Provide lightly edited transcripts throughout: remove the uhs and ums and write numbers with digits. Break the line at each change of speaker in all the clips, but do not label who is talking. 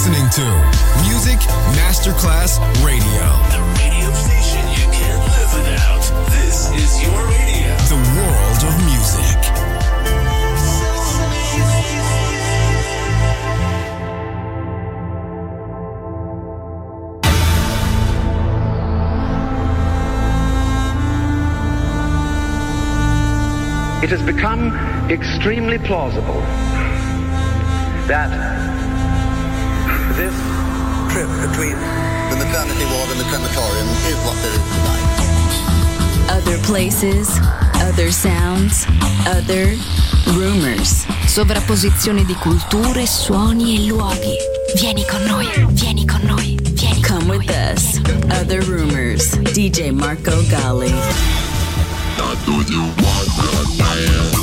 listening to Music Masterclass Radio.
The radio station you can't live without. This is your radio.
The world of music.
It has become extremely plausible that this trip between
the maternity ward and the crematorium is what there is tonight.
Other places, other sounds, other rumors. Sovrapposizione di culture, suoni e luoghi. Vieni con noi, vieni con noi, vieni con noi. Come with us. Other rumors. DJ Marco Gally.
Now do you want that man?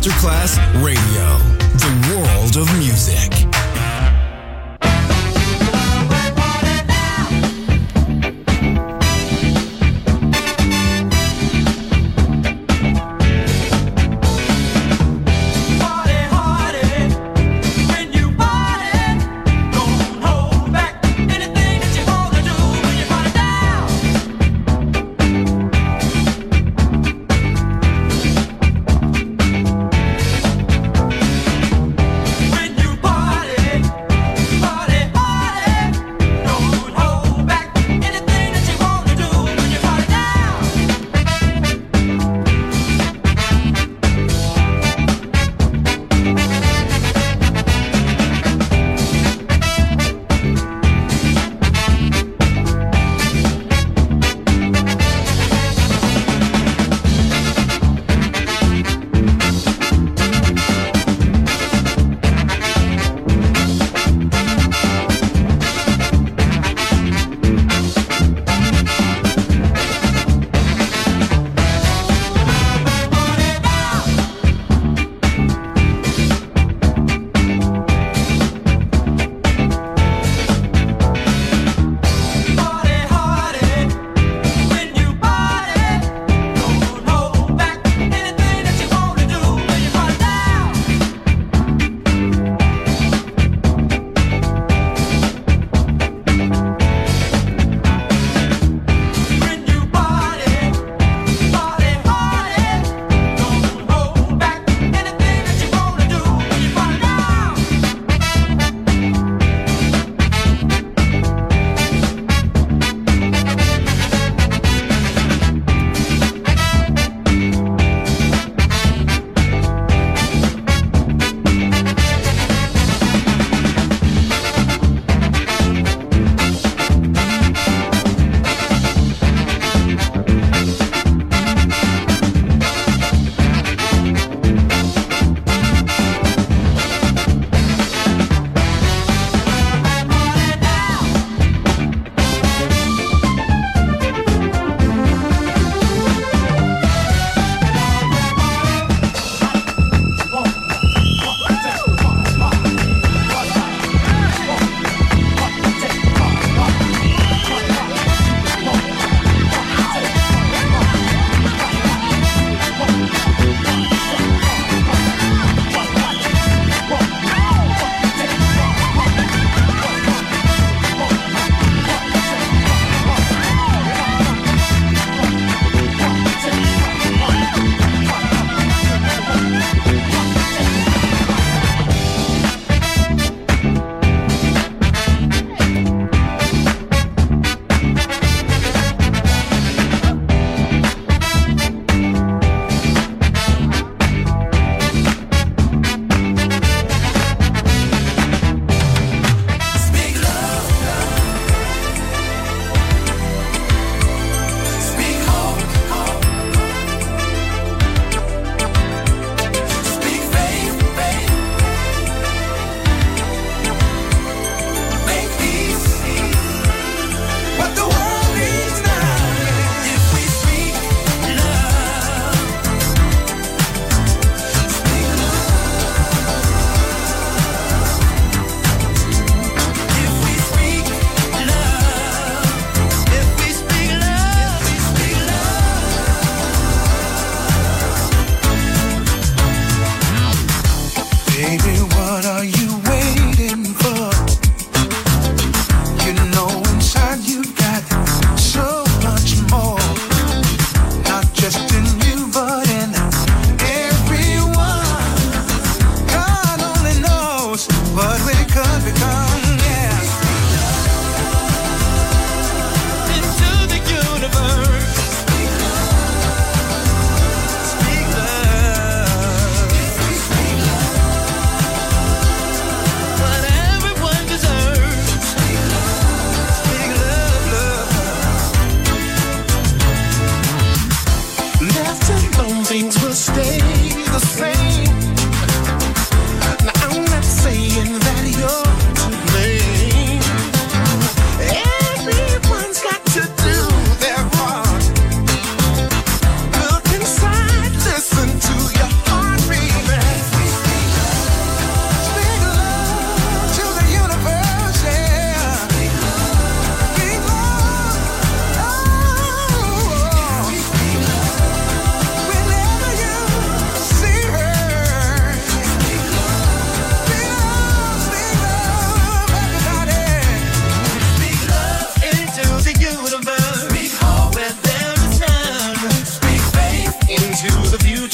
Masterclass Radio, the world of music.
When you party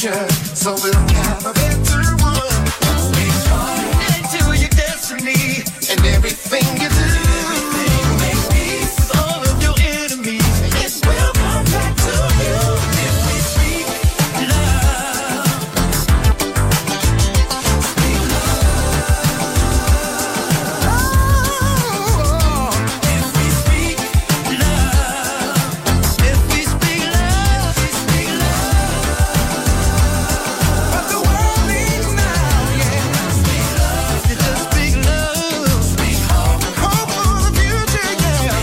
future, so we'll have a better one. Speak hard into your destiny and everything you do. Make peace with all of your enemies. It will come back to you if we speak love. Speak love. Oh, if we speak love. If we speak love, we speak love. What the world needs now, yeah. Speak love. You just speak love. Speak hope. Hope for the future, yeah.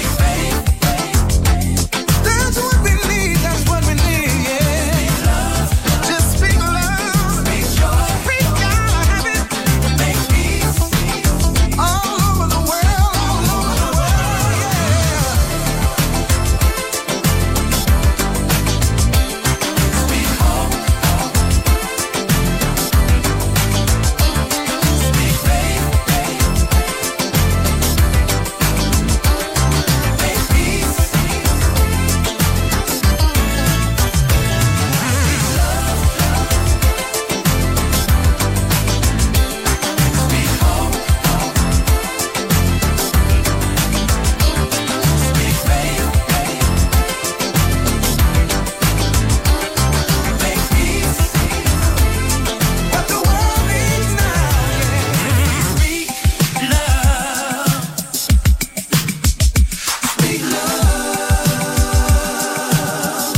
That's what we need, that's what we need, yeah. Just speak love. Speak joy. We gotta have it. Make peace. All over the world, yeah. Speak hope. Speak faith. Make peace. Speak hope. Speak faith. Make peace. What the world needs now, yeah. Speak love. Speak love.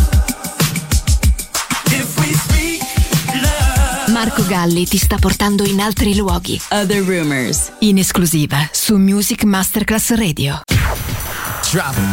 If we speak love.
Marco Galli ti sta portando in altri luoghi. Other Rumors, in esclusiva su Music Masterclass Radio.
Drop it.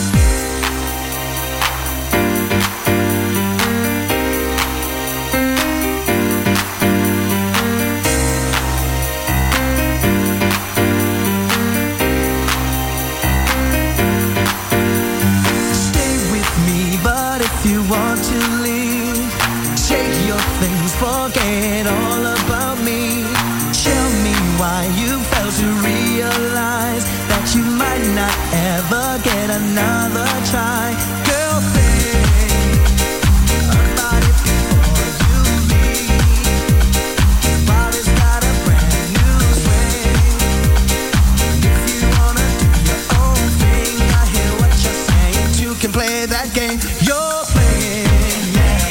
Stay with me, but if you want to leave, shake your things, forget all about me. Tell me why you failed to realize that you might not ever get another try. Girl, think about it before you leave. While it's got a brand new swing. If you wanna do your own thing, I hear what you're saying. You can play that game you're playing, yeah.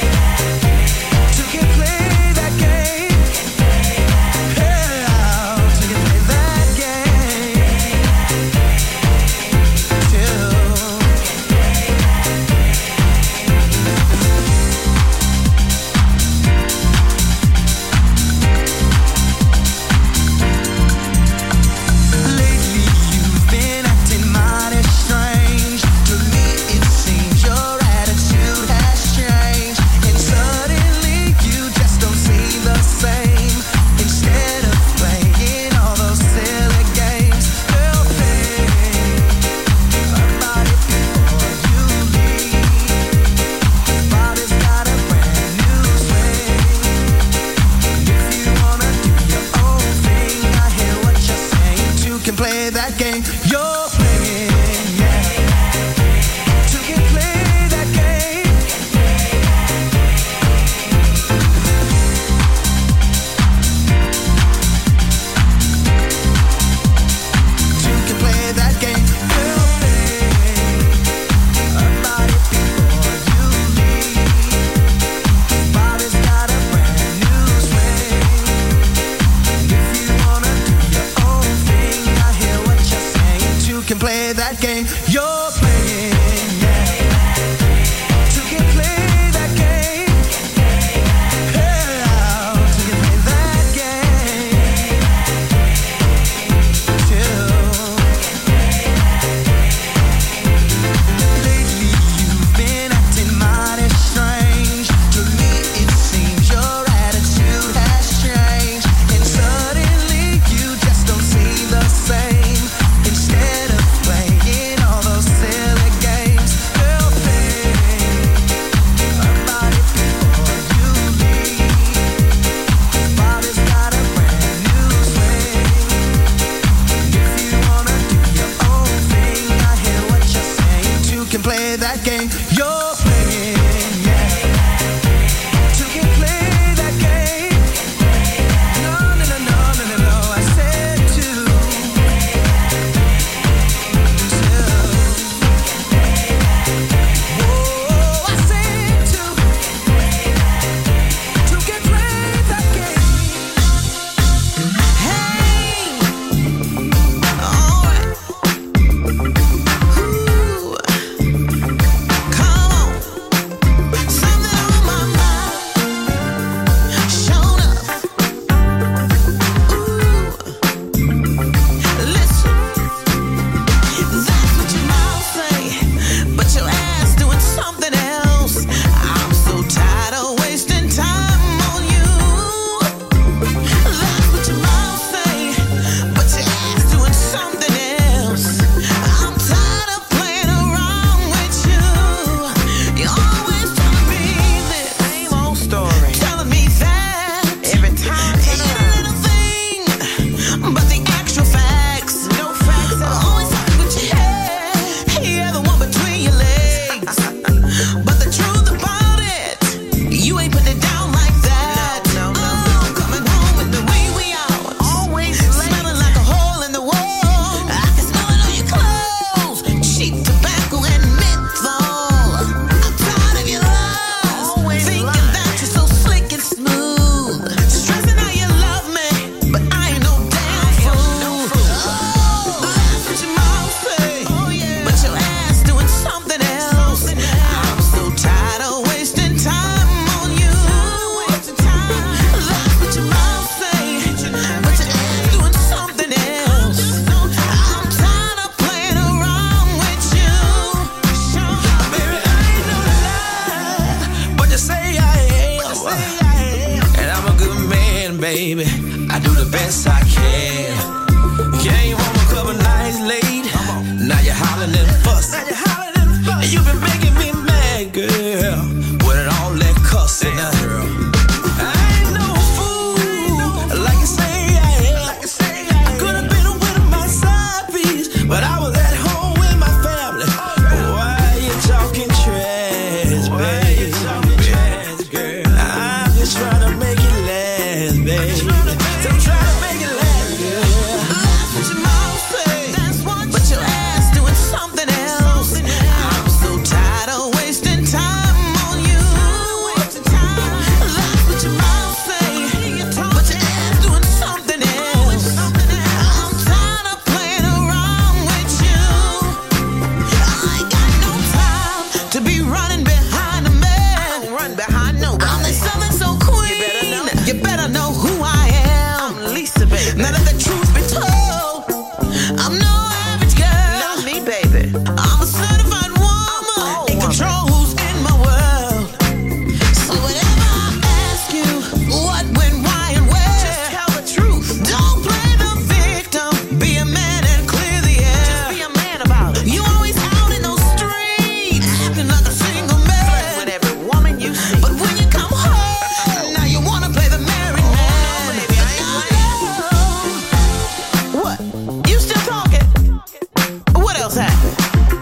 baby. I do the best I can. Came home a couple nights late. Now you're hollering and fussing. And you've been making me mad, girl. With all that cussing, girl. I ain't no fool, like you say I am. I could have been with my side piece, but I was at home with my family. Why you talking trash, baby? Girl, I'm just trying to make it last, baby. So try to make it last, girl. That's what your mouth say, but your ass doing something else. I'm so tired of wasting time on you. That's what your mouth say, but your ass doing something else. I'm tired of playing around with you. I ain't got no time to be running behind a man. I don't run behind nobody. I'm the Southern Soul Queen. You better know who I am. I'm Lisa, baby. Now that the truth be told, I'm no average girl. Not me, baby. I'm a certified woman in control who's in my world. So whenever I ask you what, when, why, and where, just tell the truth. Don't play the victim. Be a man and clear the air. Just be a man about it. You always out in those streets, acting like a single man. Flirt with every woman you see. But when you come home, now you wanna play the married man. No, baby, I ain't playing. What? You still talking? What else happened?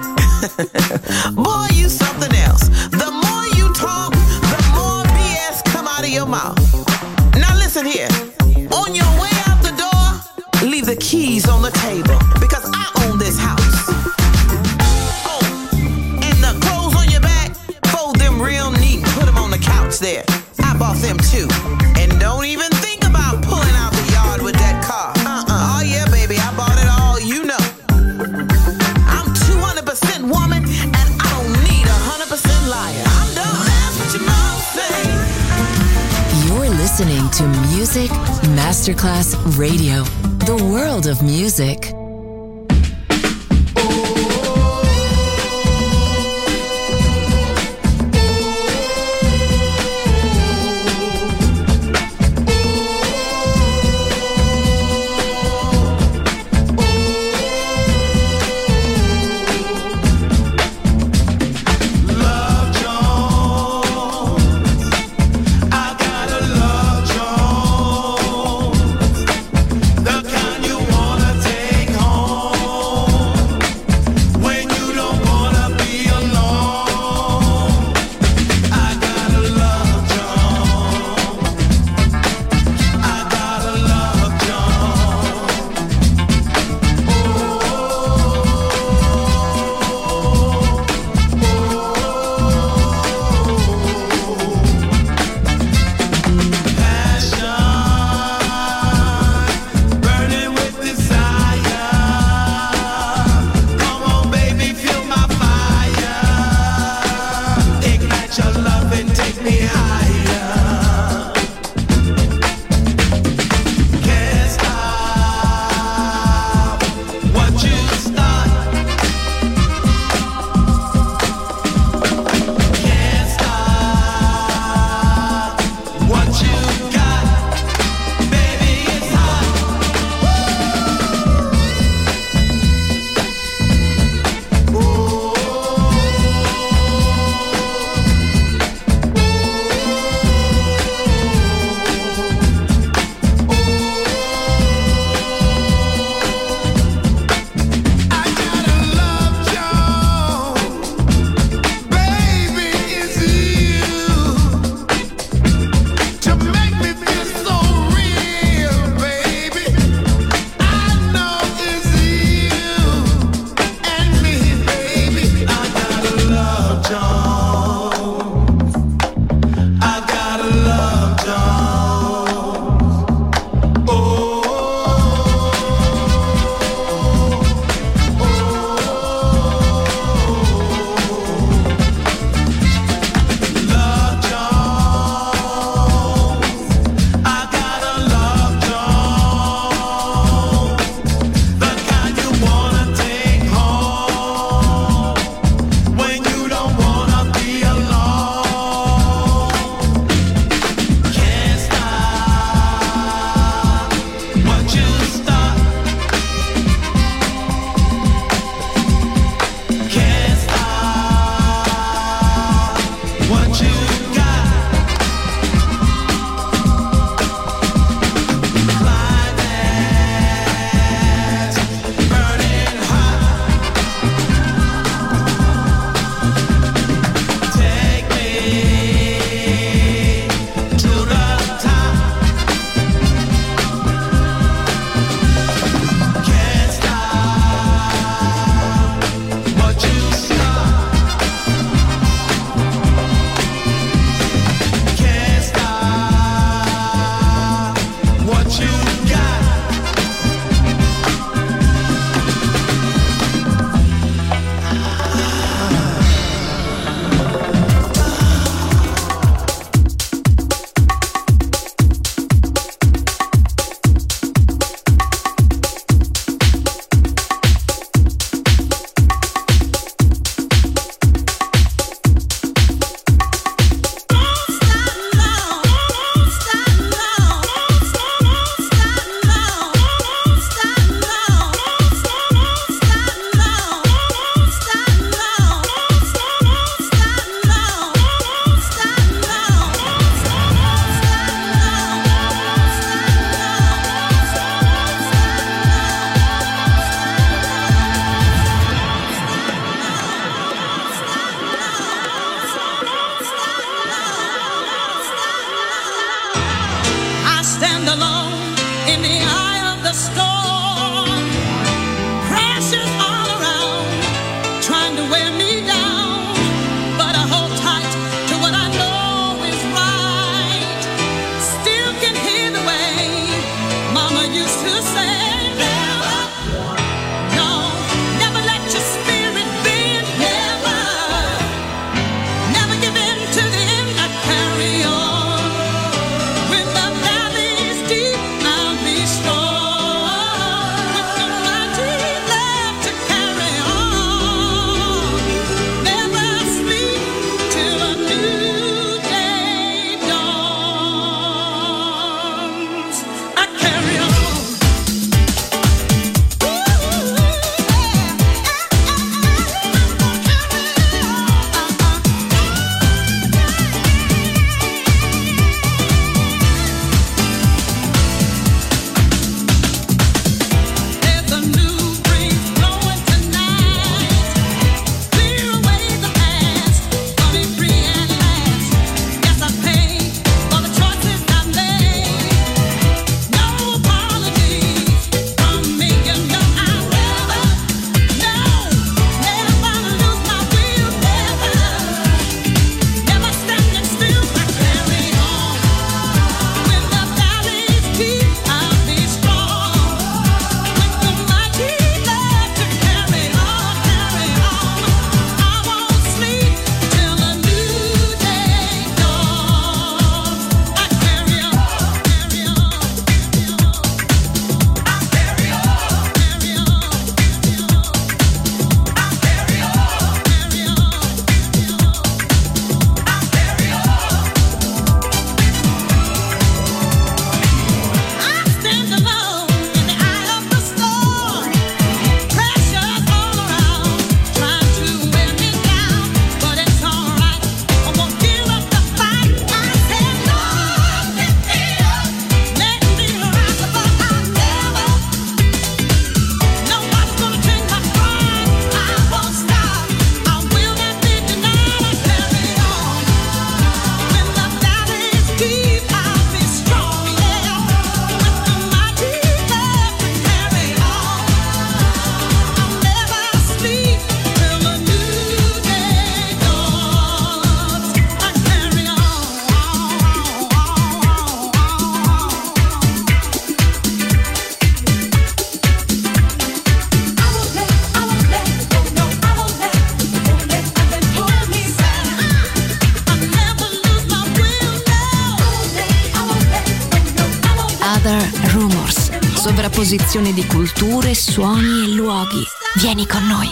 Boy, you something else. The more you talk, the more BS come out of your mouth. Now listen here. On your way out the door, leave the keys on the table, because I own this house. Oh, and the clothes on your back, fold them real neat and put them on the couch there. I bought them too. And don't even think about pulling out the yard with that car. Oh yeah, baby, I bought it all, you know. I'm 200% woman, and I don't need 100% liar. I'm done. That's what your mouth say.
You're listening to Music Masterclass Radio, the world of music.
Love Jones, I gotta love Jones, the kind you wanna take home when you don't wanna be alone. I gotta love Jones, I gotta love Passion, burning with desire. Come on, baby, feel my fire. Ignite your love and take me higher. Can't stop what you start. Can't stop what you got. Baby, it's hot.
stand alone in the eye of the storm. Pressures all around, trying to wear me down, but I hold tight to what I know is right. Still can hear the way Mama used to say.
Sovrapposizione di culture, suoni e luoghi. Vieni con noi.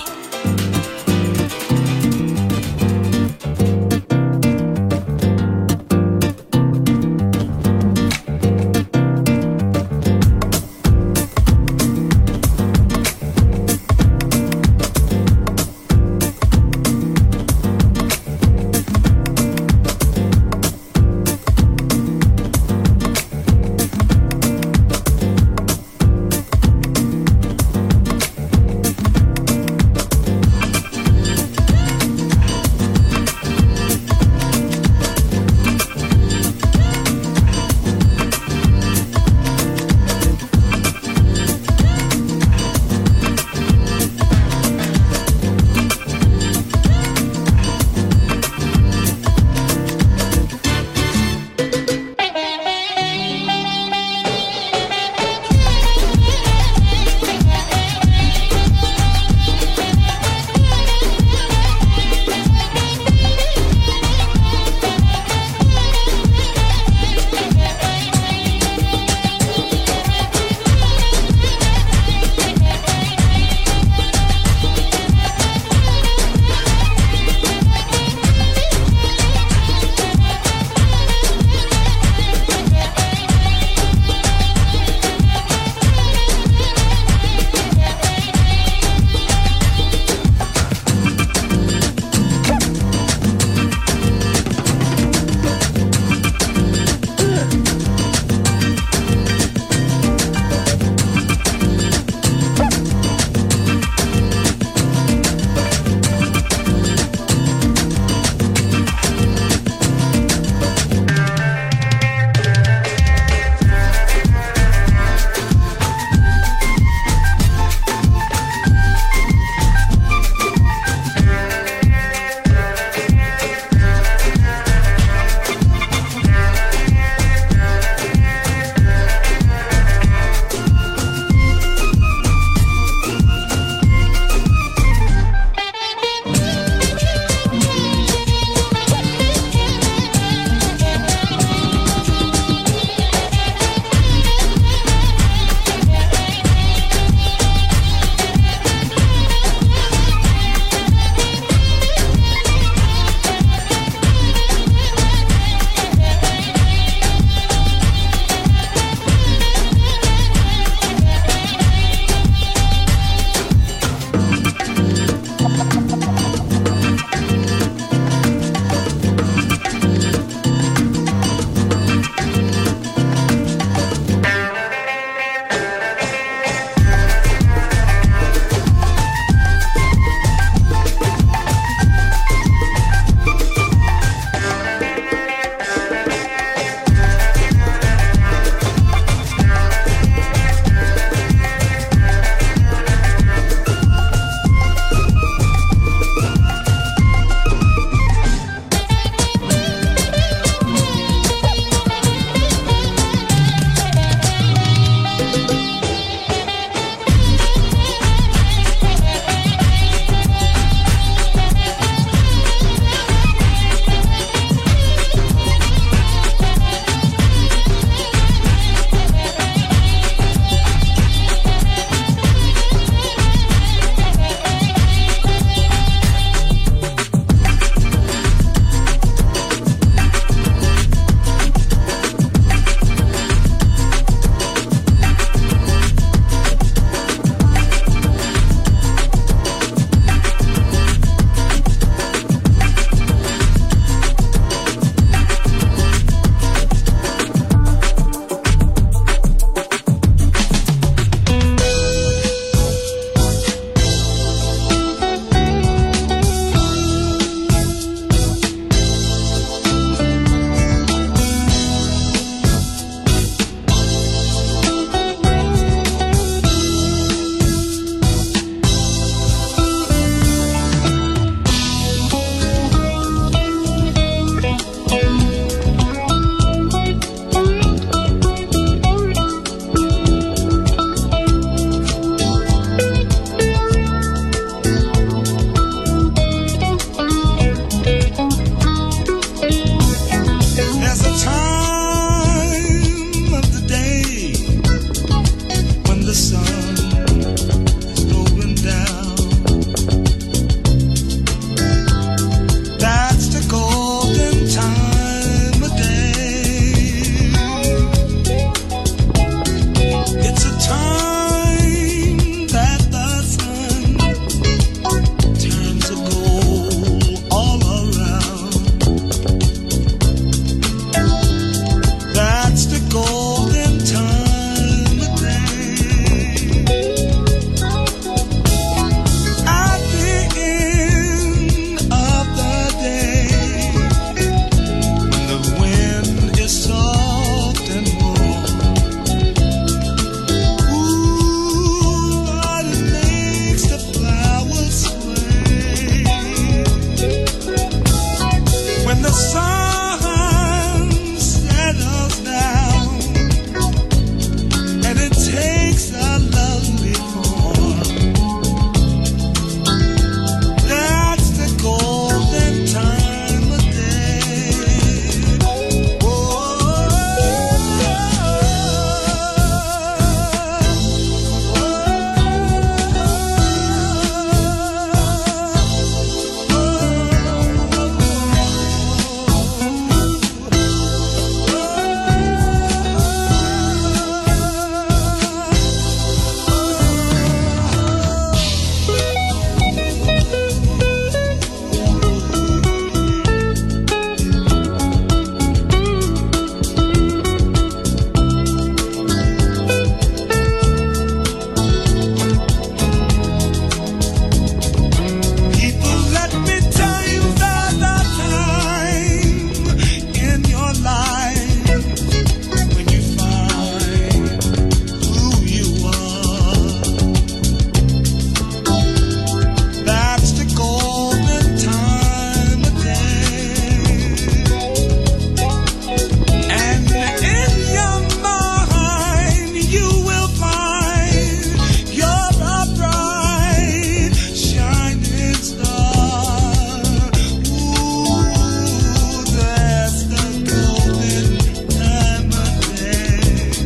There's a time of the day when the sun is going down. That's the golden time of day. It's a time that the sun turns to gold all around. That's the golden time of day. At the end of the day, when the wind is soft and warm, ooh, but it makes the flowers sway. When the sun settles down and it takes a lovely form, that's the golden time of day. People, let me tell you about the time in your life when you find who you are. That's the golden time of day. And in your mind you will find you're a bright shining star. Ooh, that's the golden time of day.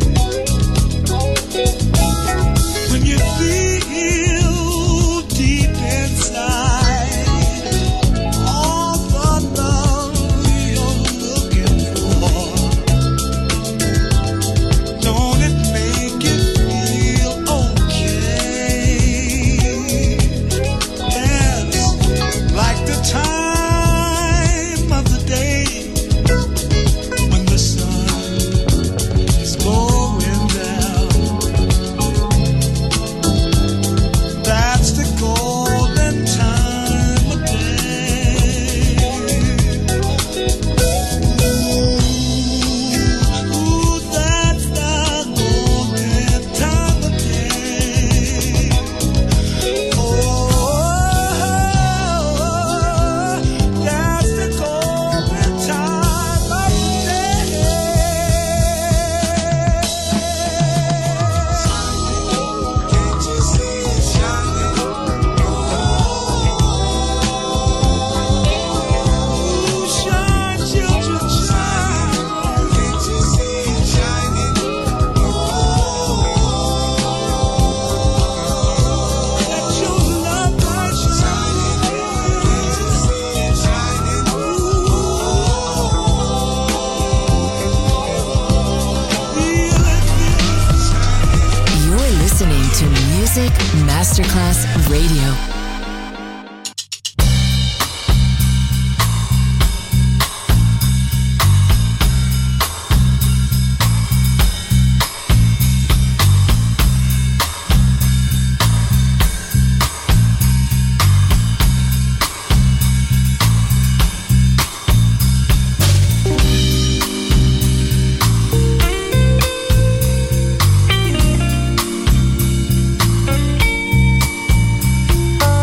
When you feel deep inside all the love you're looking for, don't it make you feel okay? Yes, like the time of the day when the sun is going down. That's the golden time of day. Ooh, that's the golden time of day. Oh, that's the golden time of day. Can't you see it shining? Ooh, shine, children, shine. Can't you see it shining? Let your love light shine. Can't you see it shining? Feel it shining.
You're listening to Music Masterclass Radio.
Oh,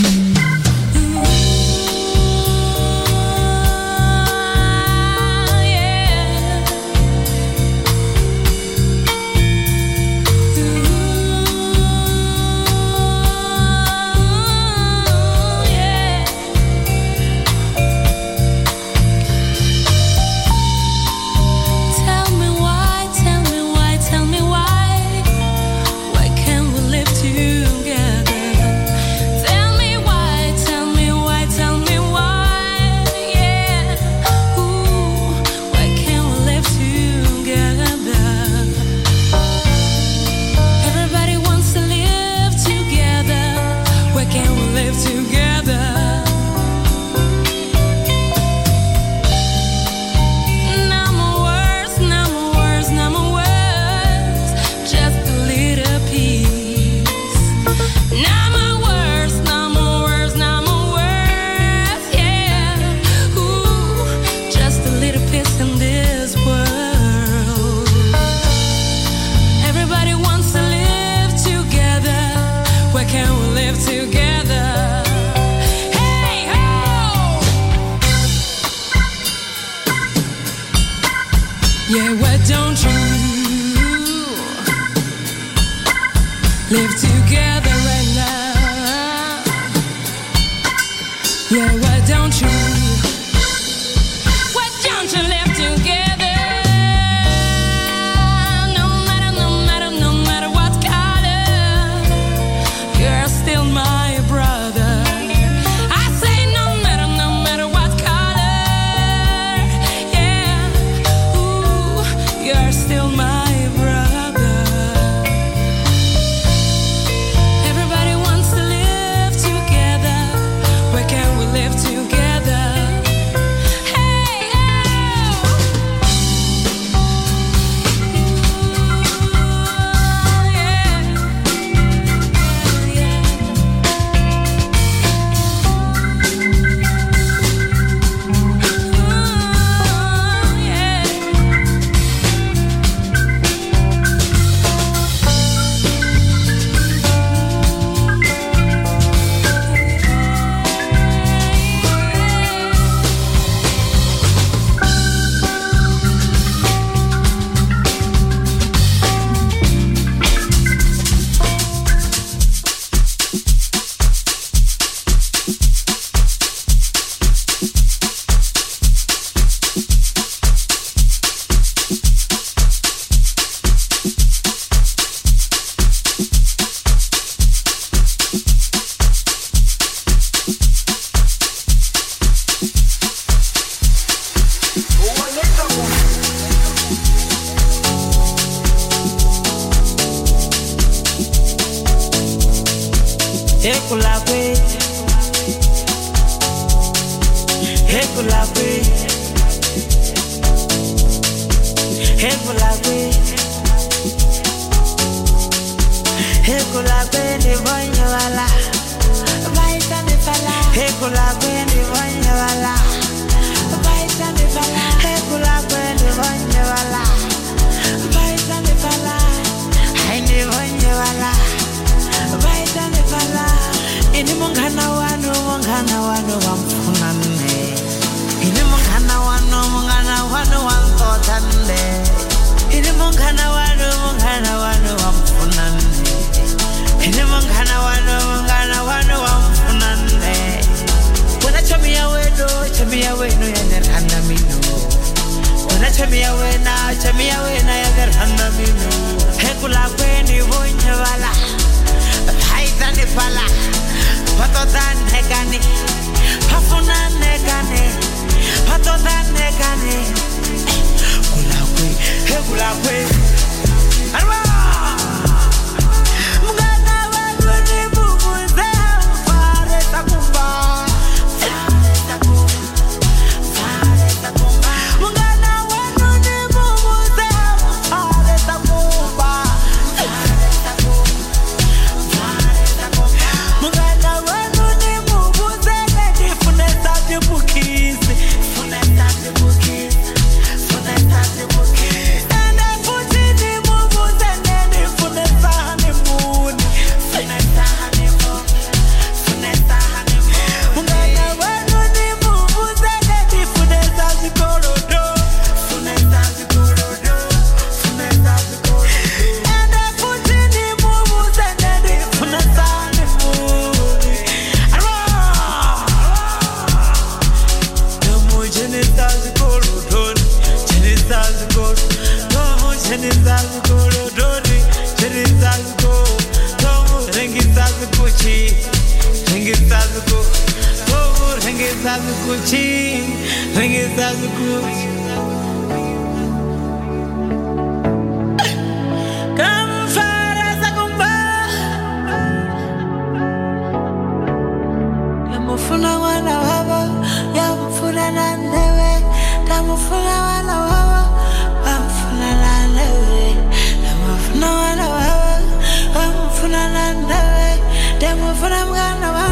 Yeah, why don't you live together right now? Yeah, why don't you live together? No matter what color, you're still my brother. I say no matter what color, yeah, ooh, you're still my brother. Everybody wants to live together. Where can we live together? Hey,
And I put
सबको रहेंगे सब कुछ ही रहेंगे सब कुछ Mufuna wana wawa, ya mufuna na newe. Da mufuna wana wawa, wa mufuna na newe. Da mufuna wana wawa, wa mufuna na newe. Da mufuna mwana wawa.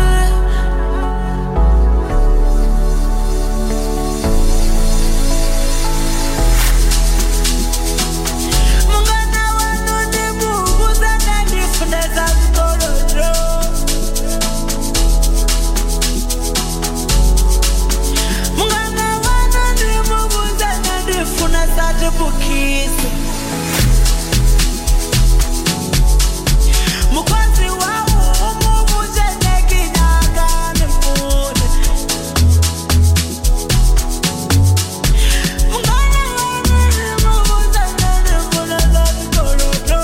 Mungana wanu ni bubu zana ni funda za mkolodro. Such a bookies. Mukwanzi wawo umubuje nekinyaga nemune. Mungana wana umubuje nemune zatikolodo.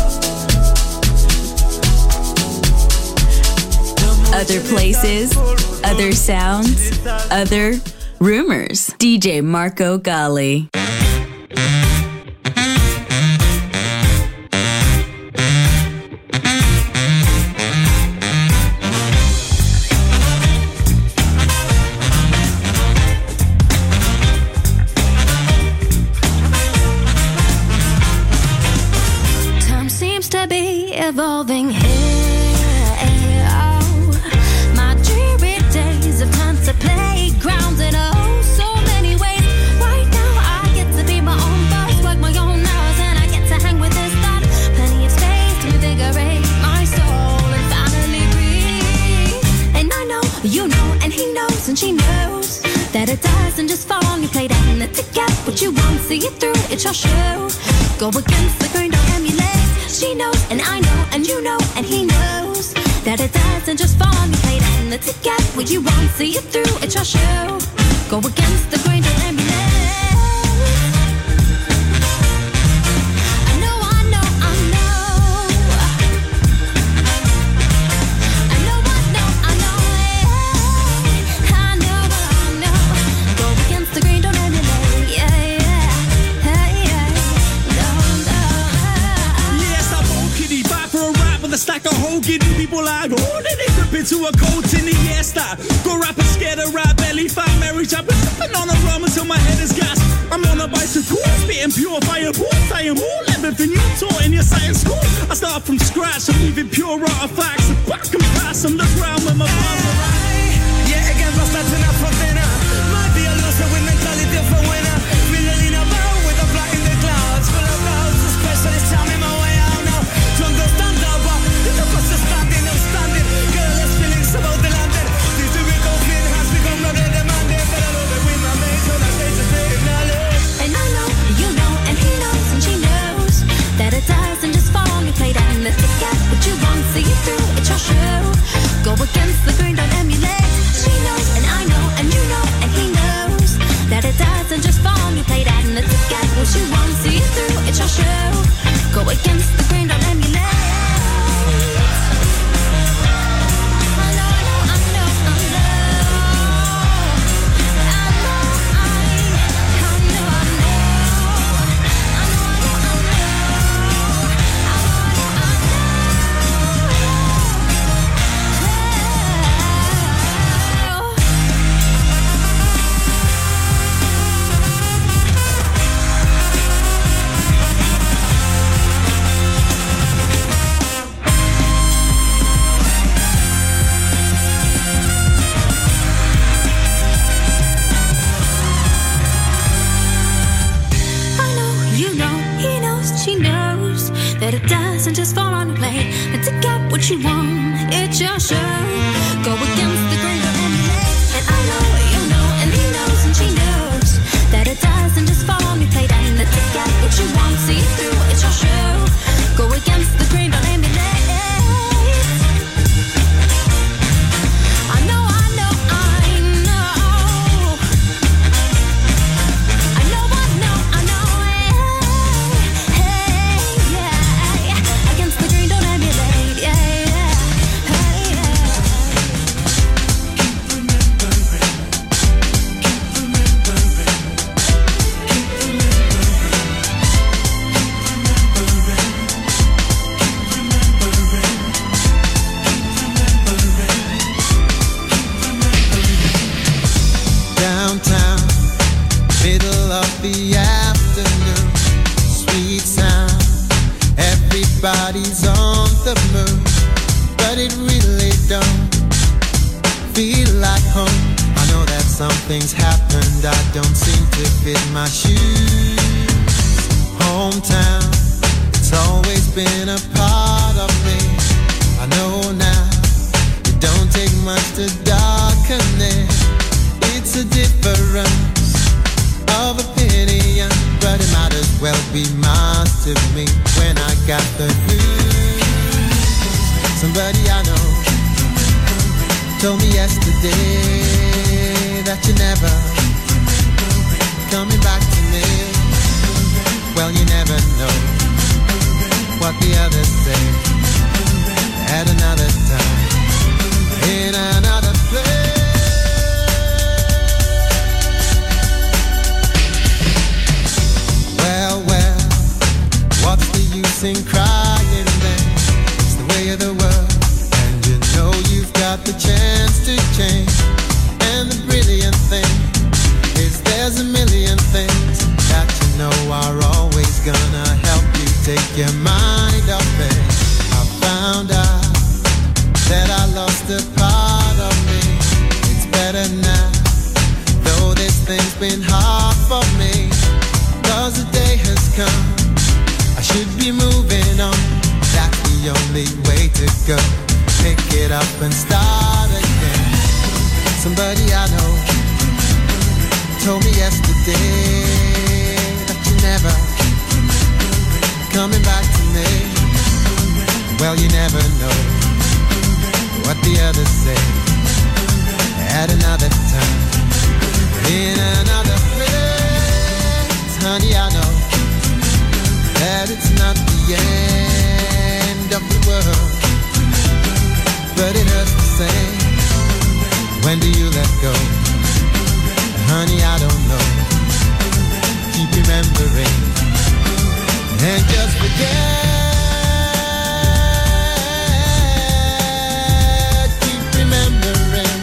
Other places, other sounds, other rumors. DJ Marco Gally.
Evolving here, oh, my dreary days have turned to playgrounds in oh so many ways. Right now I get to be my own boss, work my own hours, and I get to hang with this thought. Plenty of space to invigorate my soul and finally breathe. And I know, you know, and he knows, and she knows that it doesn't just fall on your plate and to get what you want, see it through, it's your show. Go against the grain, don't emulate. She knows, and I know, and you know, and he knows that it doesn't just fall on your plate and to get what you want, see it through, it's your show. Go against the grain, don't emulate. I know, I know, I know. I know, I know, I know. I know, I know. Go against the grain, don't emulate. Yeah, yeah. Hey, yeah.
A stack of whole giddy people like, oh, then they flip into a coat in the air style. Go rapping scared of rap belly fat Mary chopping, sipping on a rum until my head is gas. I'm on a bicycle, spitting pure fireballs. I am all everything you taught in your science school. I start from scratch, I'm leaving pure artifacts. And back and pass on the ground with my bars around.
Yeah, again, but that's enough for dinner. Might be a loser with mentality of a winner. Feeling in a bow with a fly in the clouds. Full of clouds, especially tell me my way out now. Don't go stand up. Standing, I'm standing. Girl, there's feelings about the landing. These typical feeling has become not a demanding. But I love it with my mates, so that they just acknowledge.
And I know, you know, and he knows, and she knows that it doesn't just fall on your plate and to get what you want, see it through, it's your show. Go against the grain, don't emulate. She knows, and I know, and you know, and he knows that it doesn't just fall on your plate and to get what you want, see it through, it's your show. Go against the grain, don't emulate. That it doesn't just fall on your plate, but to get what you want, it's your show. Go against the grain, don't emulate. And I know, you know, and he knows, and she knows that it doesn't just fall on your plate, and to get what you want, see it through, it's your show. Go against the grain, don't emulate. I know, I know, I know. I know, I know, I know.
Hometown, middle of the afternoon, sweet sound. Everybody's on the move, but it really don't feel like home. I know that something's happened, I don't seem to fit my shoes. Hometown, it's always been a part of me. I know now, it don't take much to darken it. It's a difference of opinion, but it might as well be mine to me when I got the news. Somebody I know told me yesterday that you're never coming back to me. Well, you never know what the others say at another time, in another place. Well, what's the use in crying then? It's the way of the world, and you know you've got the chance to change. And the brilliant thing is there's a million things that you know are always gonna help you take your mind off it. I found out that I lost a part of me. It's better now, though this thing's been hard for me. 'Cause the day has come, I should be moving on. That's the only way to go. Pick it up and start again. Somebody I know told me yesterday that you're never coming back to me. Well, you never know what the others say at another time, in another place. Honey, I know that it's not the end of the world, but it hurts the same. When do you let go? Honey, I don't know. Keep remembering and just forget. Keep remembering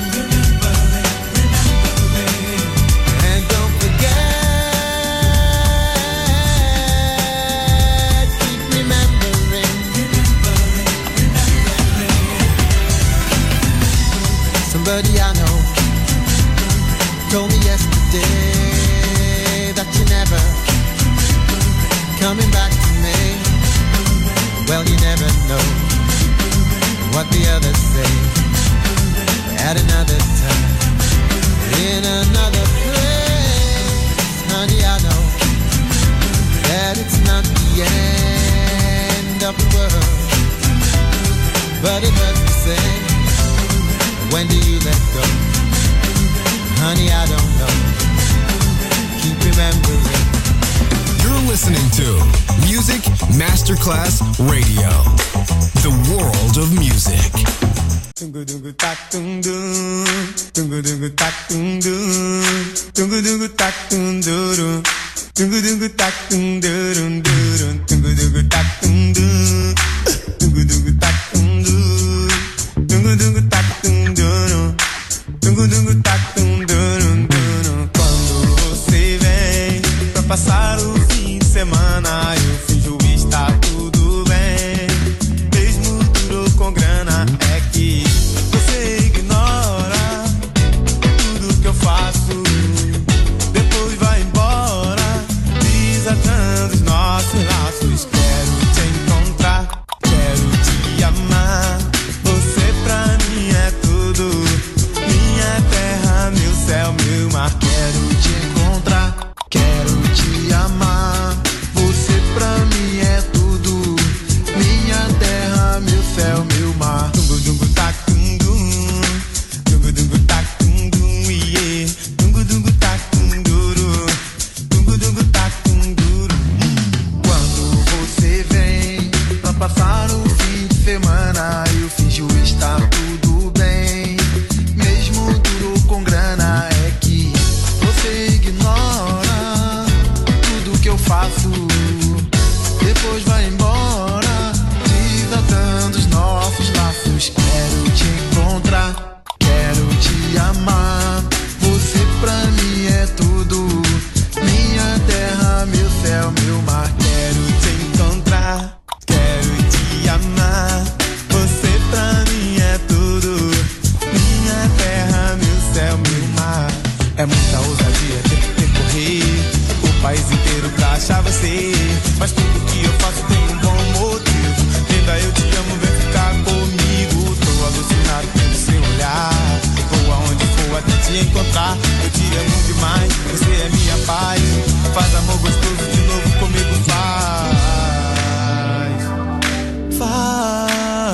and don't forget. Keep remembering. Somebody I know told me yesterday that you're never coming back to me. Well, you never know what the others say at another time, in another place. Honey, I know that it's not the end of the world, but it hurts the same. When do you let go? Honey, I don't know. Keep remembering.
You're listening to Music Masterclass Radio, the world of music.
Quando você vem pra passar o fim de semana, eu finjo estar tudo bem. Mesmo duro com grana, é que você ignora tudo que eu faço. Depois vai embora, desatando os nossos laços. Quero te encontrar, quero te amar. Você pra mim é tudo, minha terra. te encontrar. Eu te amo demais, você é minha paz. Faz amor gostoso de novo comigo, faz.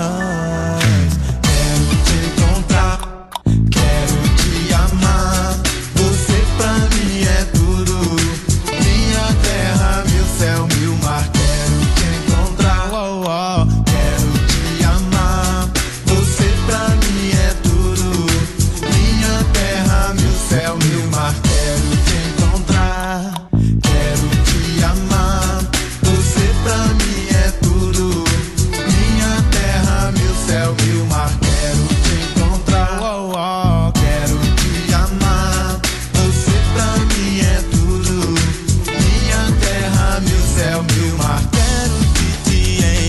Quero te encontrar, quero te amar. Você pra mim é tudo. Minha terra, meu céu, meu mar. Quero te encontrar, quero te amar. Você pra mim é tudo. Minha terra, meu céu, meu mar. Quero te encontrar, quero te amar. Você pra mim é tudo. Minha terra, meu céu, meu mar. Quero te encontrar, quero te amar. Você pra mim é tudo. Minha terra, meu céu, meu mar. Quero te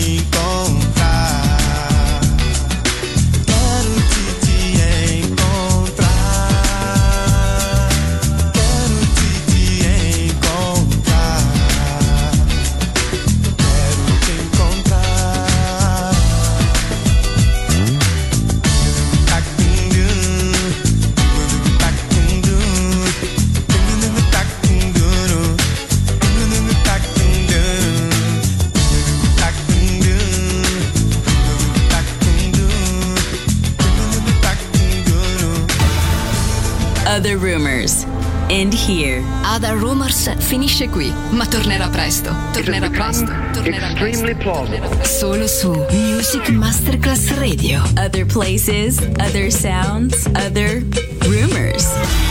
encontrar. Quero te encontrar. Quero te encontrar. Quero te encontrar.
Other Rumors. End here. Other Rumors finisce qui, ma tornerà presto. Tornerà presto. Tornerà
Extremely
presto.
plausible.
Solo su Music Masterclass Radio. Other places, other sounds, other rumors.